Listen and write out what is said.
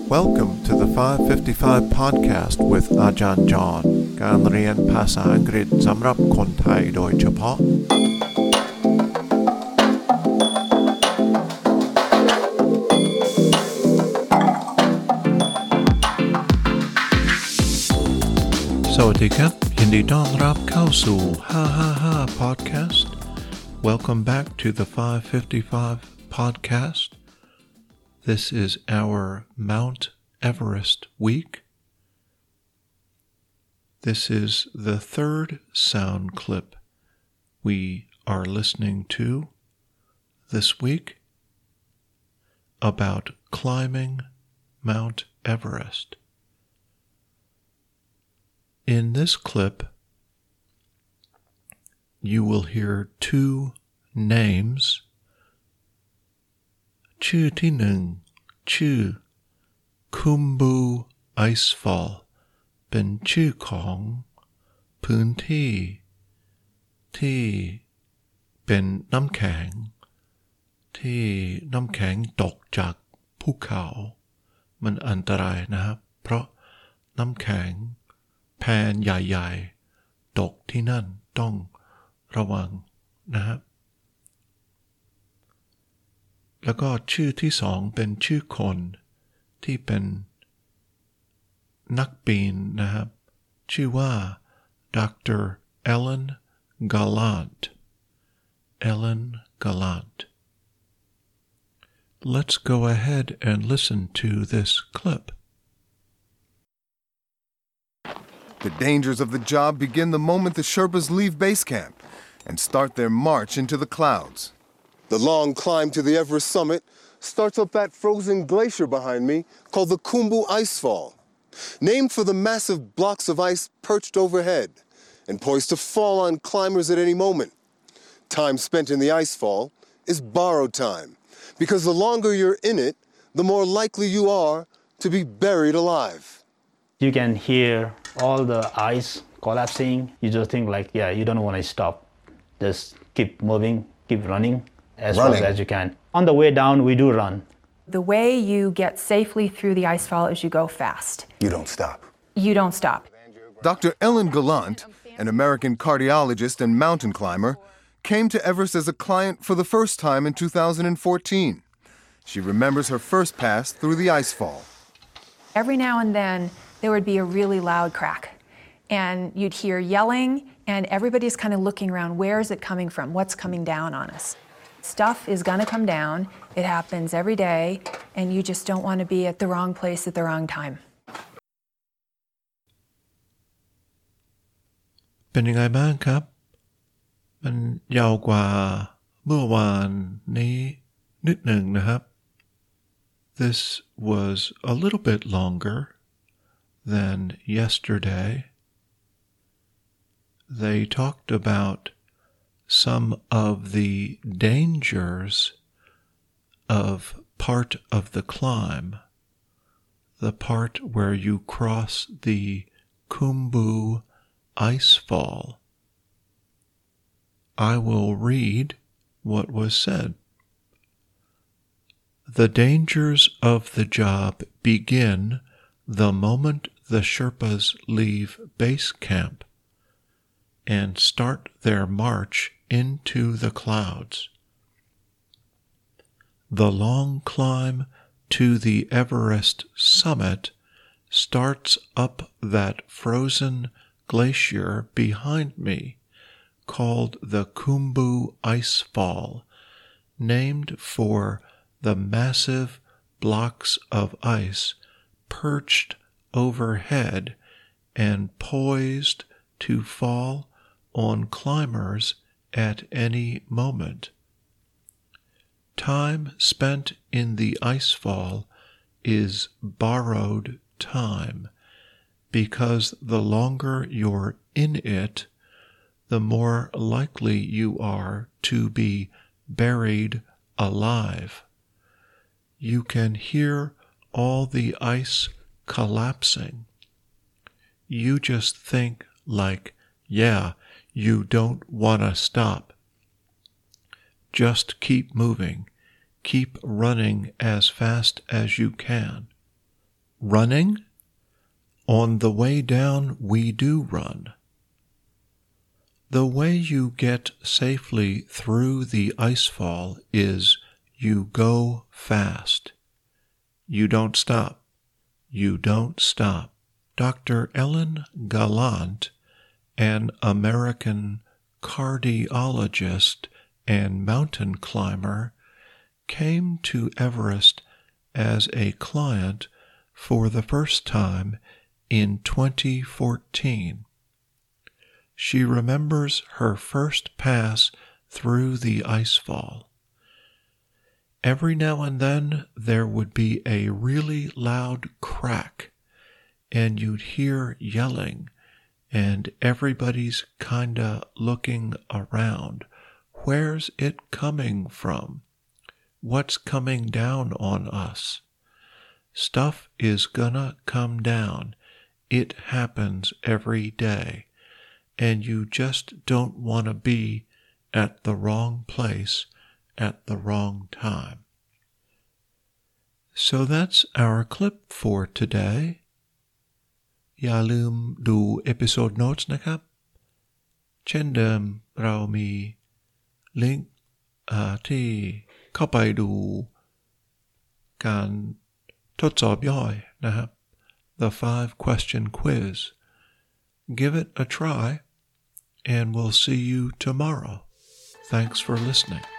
Welcome to the 555 podcast with อาจารย์จอห์นการเรียนภาษาอังกฤษสำหรับคนไทยโดยเฉพาะสวัสดีครับยินดีต้อนรับเข้าสู่555 podcast. Welcome back to the 555 podcast. This is our Mount Everest week. This is the third sound clip we are listening to this week about climbing Mount Everest. In this clip, you will hear two names. ชื่อที่หนึ่งชื่อ Khumbu Icefall เป็นชื่อของพื้นที่ที่เป็นน้ำแข็งที่น้ำแข็งตกจากภูเขามันอันตรายนะครับเพราะน้ำแข็งแผ่นใหญ่ๆตกที่นั่นต้องระวังนะครับแล้วก็ชื่อที่สองเป็นชื่อคนที่เป็นนักปีนนะครับชื่อว่า Dr. Ellen Gallant. Ellen Gallant. Let's go ahead and listen to this clip. The dangers of the job begin the moment the Sherpas leave base camp and start their march into the clouds. The long climb to the Everest summit starts up that frozen glacier behind me called the Khumbu Icefall, named for the massive blocks of ice perched overhead and poised to fall on climbers at any moment. Time spent in the icefall is borrowed time, because the longer you're in it, the more likely you are to be buried alive. You can hear all the ice collapsing. You just think you don't want to stop. Just keep moving, keep running as fast as you can. On the way down, we do run. The way you get safely through the icefall is you go fast. You don't stop. You don't stop. Dr. Ellen Gallant, an American cardiologist and mountain climber, came to Everest as a client for the first time in 2014. She remembers her first pass through the icefall. Every now and then, there would be a really loud crack. And you'd hear yelling, and everybody's kind of looking around. Where is it coming from? What's coming down on us? Stuff is going to come down. It happens every day, and you just don't want to be at the wrong place at the wrong time. เป็นยังไงบ้างครับมันยาวกว่าเมื่อวานนี้นิดหนึ่งนะครับ This was a little bit longer than yesterday. They talked about some of the dangers of part of the climb, the part where you cross the Khumbu Icefall. I will read what was said. The dangers of the job begin the moment the Sherpas leave base camp and start their march into the clouds. The long climb to the Everest summit starts up that frozen glacier behind me, called the Khumbu Icefall, named for the massive blocks of ice perched overhead and poised to fall on climbers at any moment. Time spent in the icefall is borrowed time, because the longer you're in it, the more likely you are to be buried alive. You can hear all the ice collapsing. You just think you don't want to stop. Just keep moving. Keep running as fast as you can. running? On the way down, we do run. The way you get safely through the icefall is you go fast. You don't stop. You don't stop. Dr. Ellen Gallant, an American cardiologist and mountain climber, came to Everest as a client for the first time in 2014. She remembers her first pass through the icefall. Every now and then there would be a really loud crack, and you'd hear yelling, and everybody's kinda looking around. Where's it coming from? What's coming down on us? Stuff is gonna come down. It happens every day, and you just don't want to be at the wrong place at the wrong time. So that's our clip for today. อย่าลืมดูเอพิโซดโน้ตนะครับเช่นเดิมเรามีลิงก์ที่เข้าไปดูการทดสอบย่อยนะครับ The 5-question quiz. Give it a try, and we'll see you tomorrow. Thanks for listening.